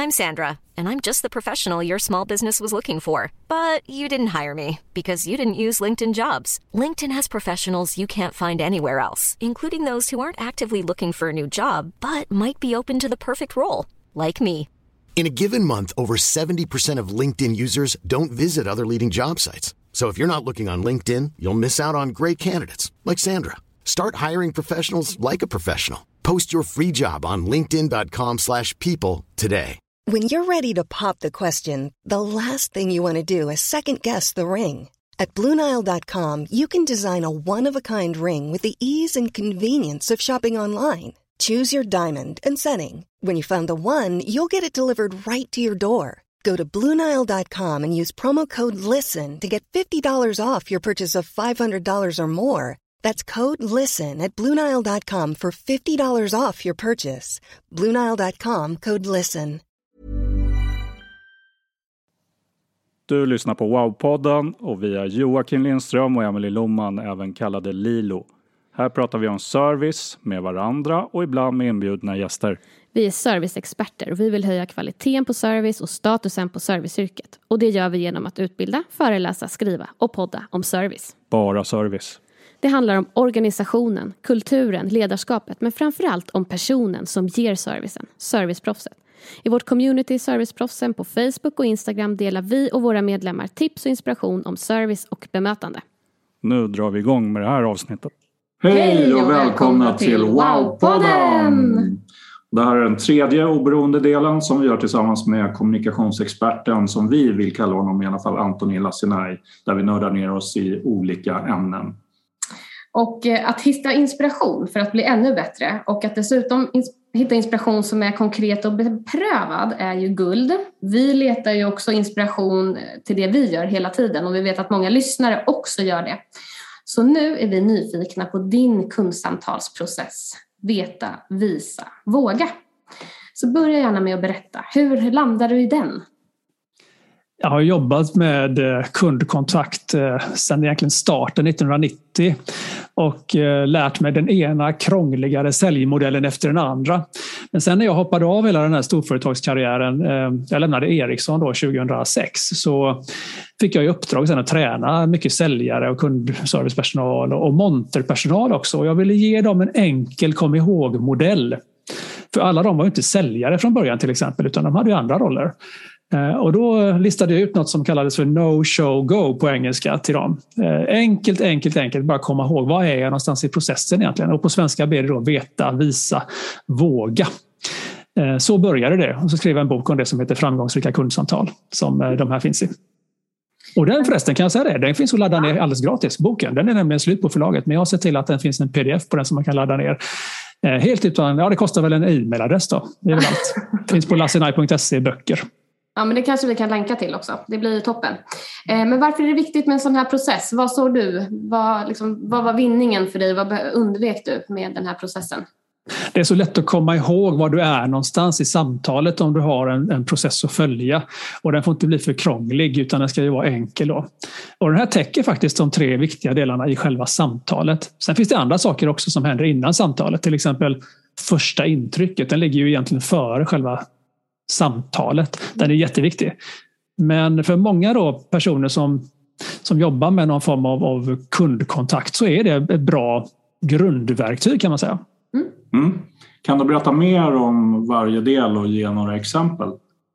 I'm Sandra, and I'm just the professional your small business was looking for. But you didn't hire me because you didn't use LinkedIn Jobs. LinkedIn has professionals you can't find anywhere else, including those who aren't actively looking for a new job, but might be open to the perfect role, like me. In a given month, over 70% of LinkedIn users don't visit other leading job sites. So if you're not looking on LinkedIn, you'll miss out on great candidates like Sandra. Start hiring professionals like a professional. Post your free job on linkedin.com/people today. When you're ready to pop the question, the last thing you want to do is second-guess the ring. At BlueNile.com, you can design a one-of-a-kind ring with the ease and convenience of shopping online. Choose your diamond and setting. When you find the one, you'll get it delivered right to your door. Go to BlueNile.com and use promo code LISTEN to get $50 off your purchase of $500 or more. That's code LISTEN at BlueNile.com for $50 off your purchase. BlueNile.com, code LISTEN. Du lyssnar på Wow-podden och vi är Joakim Lindström och Emily Lohman, även kallade Lilo. Här pratar vi om service med varandra och ibland med inbjudna gäster. Vi är serviceexperter och vi vill höja kvaliteten på service och statusen på serviceyrket. Och det gör vi genom att utbilda, föreläsa, skriva och podda om service. Bara service. Det handlar om organisationen, kulturen, ledarskapet, men framförallt om personen som ger servicen, serviceproffset. I vårt community Serviceproffsen på Facebook och Instagram delar vi och våra medlemmar tips och inspiration om service och bemötande. Nu drar vi igång med det här avsnittet. Hej och välkomna till Wow-podden! Det här är den tredje oberoende delen som vi gör tillsammans med kommunikationsexperten, som vi vill kalla honom i alla fall, Anthony Lassinay, där vi nördar ner oss i olika ämnen. Och att hitta inspiration för att bli ännu bättre och att dessutom hitta inspiration som är konkret och beprövad är ju guld. Vi letar ju också inspiration till det vi gör hela tiden och vi vet att många lyssnare också gör det. Så nu är vi nyfikna på din kundsamtalsprocess. Veta, visa, våga. Så börja gärna med att berätta. Hur landar du i den? Jag har jobbat med kundkontakt sedan egentligen starten 1990 och lärt mig den ena krångligare säljmodellen efter den andra. Men sen när jag hoppade av hela den här storföretagskarriären, jag lämnade Ericsson då 2006, så fick jag i uppdrag sen att träna mycket säljare och kundservicepersonal och monterpersonal också. Och jag ville ge dem en enkel kom ihåg-modell. För alla de var ju inte säljare från början till exempel, utan de hade ju andra roller. Och då listade jag ut något som kallades för no, show, go på engelska till dem. Enkelt, bara komma ihåg, vad är jag någonstans i processen egentligen? Och på svenska ber det då veta, visa, våga. Så började det. Och så skrev jag en bok om det som heter Framgångsrika kundsamtal, som de här finns i. Och den förresten, kan jag säga det, den finns att ladda ner alldeles gratis, boken. Den är nämligen slut på förlaget, men jag har sett till att den finns en pdf på den som man kan ladda ner. Helt utan, det kostar väl en e-mailadress då. Det är väl allt. Finns på lassinay.se böcker. Ja, men det kanske vi kan länka till också. Det blir toppen. Men varför är det viktigt med en sån här process? Vad såg du? Vad var vinningen för dig? Vad undvek du med den här processen? Det är så lätt att komma ihåg var du är någonstans i samtalet om du har en process att följa. Och den får inte bli för krånglig, utan den ska ju vara enkel då. Och den här täcker faktiskt de 3 viktiga delarna i själva samtalet. Sen finns det andra saker också som händer innan samtalet. Till exempel första intrycket. Den ligger ju egentligen före själva samtalet. Den är jätteviktig. Men för många då personer som jobbar med någon form av kundkontakt så är det ett bra grundverktyg, kan man säga. Mm. Kan du berätta mer om varje del och ge några exempel?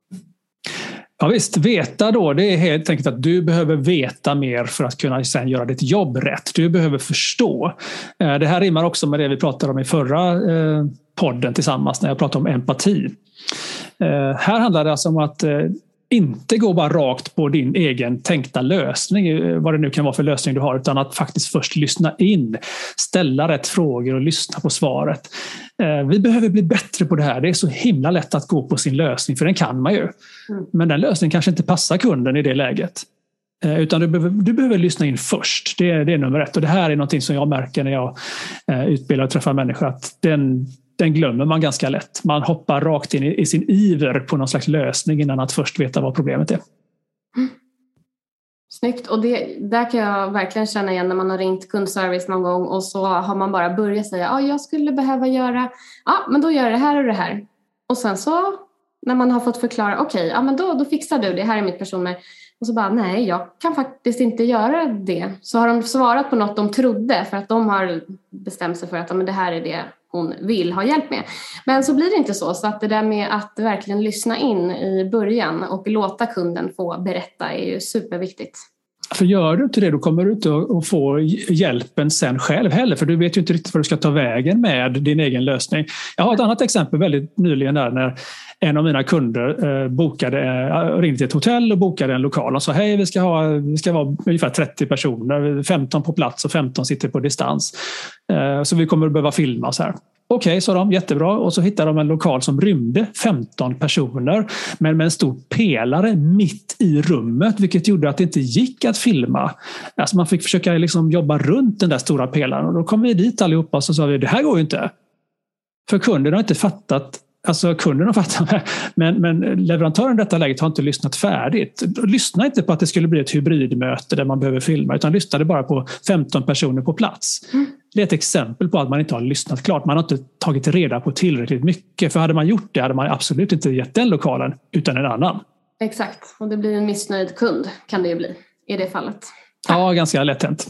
Ja visst, veta då, det är helt enkelt att du behöver veta mer för att kunna sen göra ditt jobb rätt. Du behöver förstå. Det här rimmar också med det vi pratade om i förra podden tillsammans när jag pratade om empati. Här handlar det alltså om att inte gå bara rakt på din egen tänkta lösning, vad det nu kan vara för lösning du har, utan att faktiskt först lyssna in, ställa rätt frågor och lyssna på svaret. Vi behöver bli bättre på det här. Det är så himla lätt att gå på sin lösning, för den kan man ju. Men den lösningen kanske inte passar kunden i det läget. Utan du behöver lyssna in först. Det är nummer 1. Och det här är någonting som jag märker när jag utbildar och träffar människor, att den glömmer man ganska lätt. Man hoppar rakt in i sin iver på någon slags lösning innan att först veta vad problemet är. Snyggt. Och där kan jag verkligen känna igen när man har ringt kundservice någon gång och så har man bara börjat säga jag skulle behöva göra, men då gör jag det här och det här. Och sen så när man har fått förklara, okej, men då fixar du det, här är mitt personnummer. Och så bara, nej, jag kan faktiskt inte göra det. Så har de svarat på något de trodde för att de har bestämt sig för att men det här är det hon vill ha hjälp med. Men så blir det inte så. Så att det där med att verkligen lyssna in i början och låta kunden få berätta är ju superviktigt. För gör du inte det, då kommer du inte att få hjälpen sen själv heller. För du vet ju inte riktigt vad du ska ta vägen med din egen lösning. Jag har ett annat exempel väldigt nyligen där när en av mina kunder ringde till ett hotell och bokade en lokal och sa hej, vi ska vara ungefär 30 personer, 15 på plats och 15 sitter på distans. Så vi kommer att behöva filma så här. Okej, sa de, jättebra. Och så hittade de en lokal som rymde 15 personer men med en stor pelare mitt i rummet, vilket gjorde att det inte gick att filma. Alltså man fick försöka liksom jobba runt den där stora pelaren och då kom vi dit allihopa och så sa vi, det här går ju inte. För kunden har inte fattat. Alltså kunden har fattat, men leverantören i detta läget har inte lyssnat färdigt. Lyssna inte på att det skulle bli ett hybridmöte där man behöver filma, utan lyssnade bara på 15 personer på plats. Det är ett exempel på att man inte har lyssnat klart. Man har inte tagit reda på tillräckligt mycket. För hade man gjort det hade man absolut inte gett den lokalen utan en annan. Exakt, och det blir en missnöjd kund kan det ju bli i det fallet. Ja, ganska lätt hänt.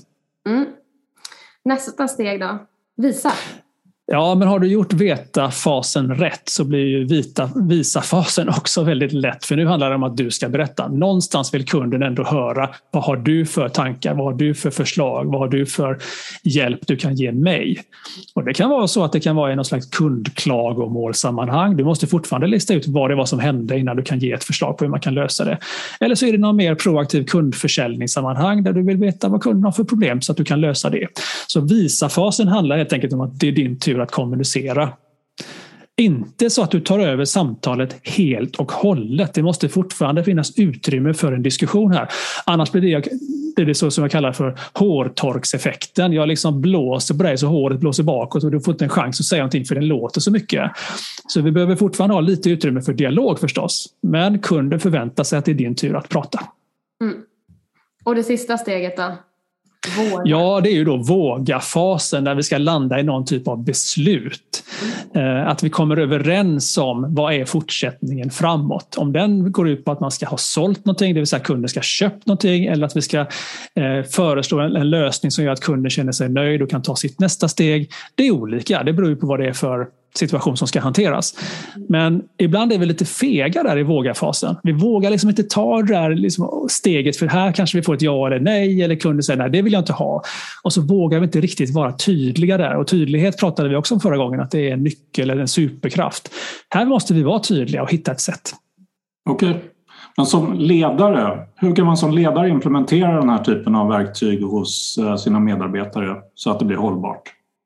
Nästa steg då, visa. Ja, men har du gjort veta-fasen rätt så blir ju visa-fasen också väldigt lätt. För nu handlar det om att du ska berätta. Någonstans vill kunden ändå höra, vad har du för tankar, vad har du för förslag, vad har du för hjälp du kan ge mig. Och det kan vara så att det kan vara i någon slags kundklagomålsammanhang. Du måste fortfarande lista ut vad det var som hände innan du kan ge ett förslag på hur man kan lösa det. Eller så är det någon mer proaktiv kundförsäljningssammanhang där du vill veta vad kunden har för problem så att du kan lösa det. Så visa-fasen handlar helt enkelt om att det är din tur att kommunicera. Inte så att du tar över samtalet helt och hållet. Det måste fortfarande finnas utrymme för en diskussion här. Annars blir det så som jag kallar för hårtorkseffekten. Jag liksom blåser på dig så håret blåser bakåt och du får inte en chans att säga någonting för den låter så mycket. Så vi behöver fortfarande ha lite utrymme för dialog förstås. Men kunden förväntar sig att det är din tur att prata. Och det sista steget då? Våga. Ja, det är ju då våga-fasen där vi ska landa i någon typ av beslut. Att vi kommer överens om vad är fortsättningen framåt. Om den går ut på att man ska ha sålt någonting, det vill säga kunden ska ha köpt någonting, eller att vi ska föreslå en lösning som gör att kunden känner sig nöjd och kan ta sitt nästa steg. Det är olika, det beror ju på vad det är för situation som ska hanteras. Men ibland är vi lite fega där i våga-fasen. Vi vågar liksom inte ta det där liksom steget för här kanske vi får ett ja eller nej eller kunden säger nej, det vill jag inte ha. Och så vågar vi inte riktigt vara tydliga där. Och tydlighet pratade vi också om förra gången att det är en nyckel eller en superkraft. Här måste vi vara tydliga och hitta ett sätt. Okej. Men som ledare, hur kan man som ledare implementera den här typen av verktyg hos sina medarbetare så att det blir hållbart?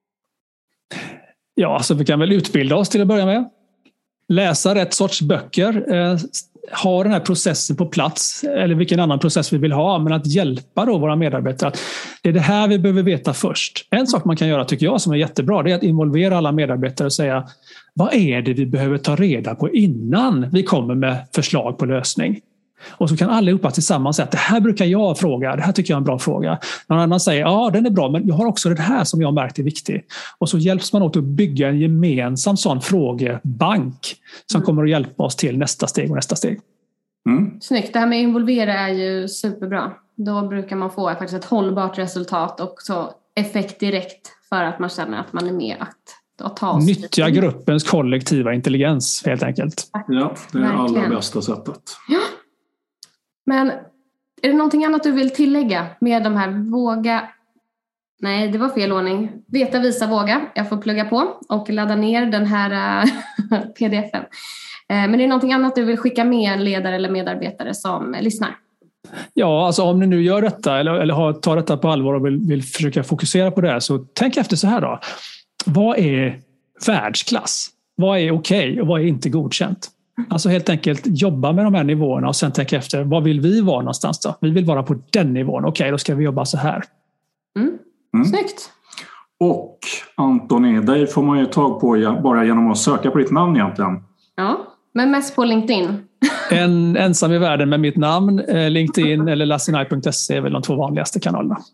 Ja, alltså vi kan väl utbilda oss till att börja med. Läsa rätt sorts böcker. Ha den här processen på plats. Eller vilken annan process vi vill ha. Men att hjälpa då våra medarbetare. Det är det här vi behöver veta först. En sak man kan göra tycker jag som är jättebra. Det är att involvera alla medarbetare och säga. Vad är det vi behöver ta reda på innan vi kommer med förslag på lösning? Och så kan allihopa tillsammans säga att det här brukar jag fråga, det här tycker jag är en bra fråga. Någon annan säger, ja den är bra men jag har också det här som jag märkt är viktigt. Och så hjälps man åt att bygga en gemensam sån frågebank som kommer att hjälpa oss till nästa steg och nästa steg. Snyggt, det här med involvera är ju superbra. Då brukar man få faktiskt ett hållbart resultat och så effekt direkt för att man känner att man är med att ta oss. Nyttja gruppens kollektiva intelligens helt enkelt. Ja, det är det allra bästa sättet. Ja. Men är det någonting annat du vill tillägga med de här våga... Nej, det var fel ordning. Veta, visa, våga. Jag får plugga på och ladda ner den här pdf-en. Men är det någonting annat du vill skicka med en ledare eller medarbetare som lyssnar? Ja, alltså om ni nu gör detta eller tar detta på allvar och vill försöka fokusera på det här så tänk efter så här då. Vad är världsklass? Vad är okej och vad är inte godkänt? Alltså helt enkelt jobba med de här nivåerna och sen tänka efter, vad vill vi vara någonstans då? Vi vill vara på den nivån. Okej, då ska vi jobba så här. Snyggt. Och Antoni, dig får man ju tag på bara genom att söka på ditt namn egentligen. Ja, men mest på LinkedIn. En ensam i världen med mitt namn, LinkedIn eller lassinaj.se är väl de två vanligaste kanalerna.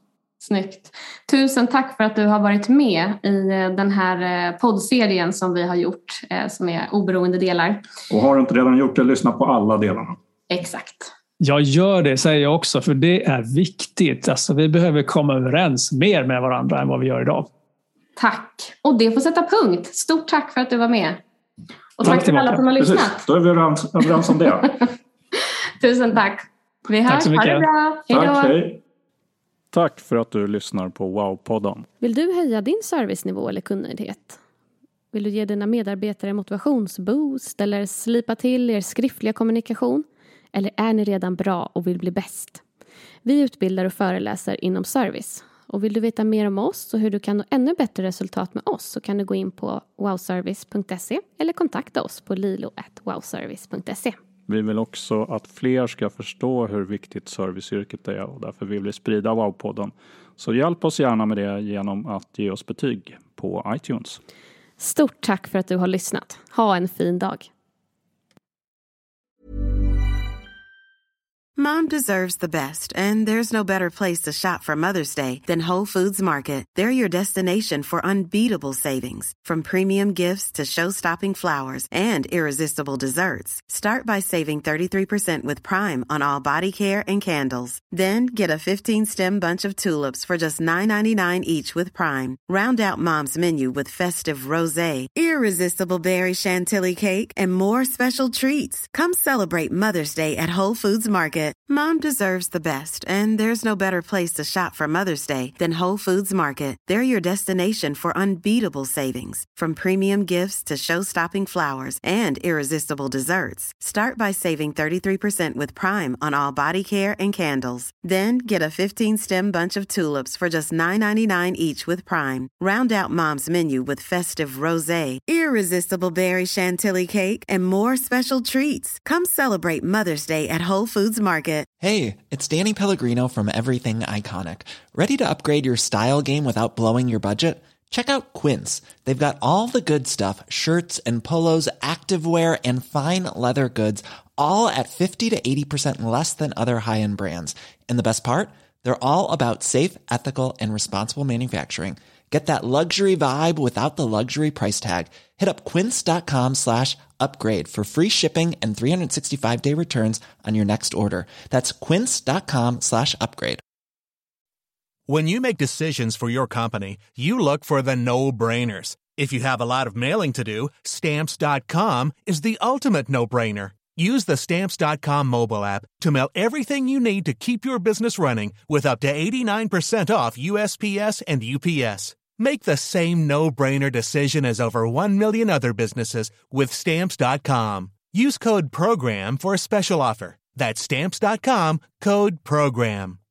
Snyggt. Tusen tack för att du har varit med i den här poddserien som vi har gjort, som är oberoende delar. Och har du inte redan gjort det, lyssna på alla delarna. Exakt. Jag gör det, säger jag också, för det är viktigt. Alltså, vi behöver komma överens mer med varandra än vad vi gör idag. Tack. Och det får sätta punkt. Stort tack för att du var med. Och tack till alla som har lyssnat. Precis, då är vi överens om det. Tusen tack. Vi hörs. Tack så mycket. Ha det bra. Hej då. Tack, hej. Tack för att du lyssnar på Wow-podden. Vill du höja din servicenivå eller kundnöjdhet? Vill du ge dina medarbetare motivationsboost eller slipa till er skriftliga kommunikation? Eller är ni redan bra och vill bli bäst? Vi utbildar och föreläser inom service. Och vill du veta mer om oss och hur du kan nå ännu bättre resultat med oss, så kan du gå in på wowservice.se eller kontakta oss på lilo@wowservice.se. Vi vill också att fler ska förstå hur viktigt serviceyrket är, och därför vill vi sprida Wow-podden. Så hjälp oss gärna med det genom att ge oss betyg på iTunes. Stort tack för att du har lyssnat. Ha en fin dag. Mom deserves the best, and there's no better place to shop for Mother's Day than Whole Foods Market. They're your destination for unbeatable savings, from premium gifts to show-stopping flowers and irresistible desserts. Start by saving 33% with Prime on all body care and candles. Then get a 15-stem bunch of tulips for just $9.99 each with Prime. Round out Mom's menu with festive rosé, irresistible berry chantilly cake, and more special treats. Come celebrate Mother's Day at Whole Foods Market. Mom deserves the best, and there's no better place to shop for Mother's Day than Whole Foods Market. They're your destination for unbeatable savings, from premium gifts to show-stopping flowers and irresistible desserts. Start by saving 33% with Prime on all body care and candles. Then get a 15-stem bunch of tulips for just $9.99 each with Prime. Round out Mom's menu with festive rosé, irresistible berry chantilly cake, and more special treats. Come celebrate Mother's Day at Whole Foods Market. Hey, it's Danny Pellegrino from Everything Iconic. Ready to upgrade your style game without blowing your budget? Check out Quince. They've got all the good stuff, shirts and polos, activewear, and fine leather goods, all at 50 to 80% less than other high-end brands. And the best part? They're all about safe, ethical, and responsible manufacturing. Get that luxury vibe without the luxury price tag. Hit up quince.com/upgrade for free shipping and 365-day returns on your next order. That's quince.com/upgrade. When you make decisions for your company, you look for the no-brainers. If you have a lot of mailing to do, Stamps.com is the ultimate no-brainer. Use the Stamps.com mobile app to mail everything you need to keep your business running with up to 89% off USPS and UPS. Make the same no-brainer decision as over 1 million other businesses with Stamps.com. Use code PROGRAM for a special offer. That's Stamps.com, code PROGRAM.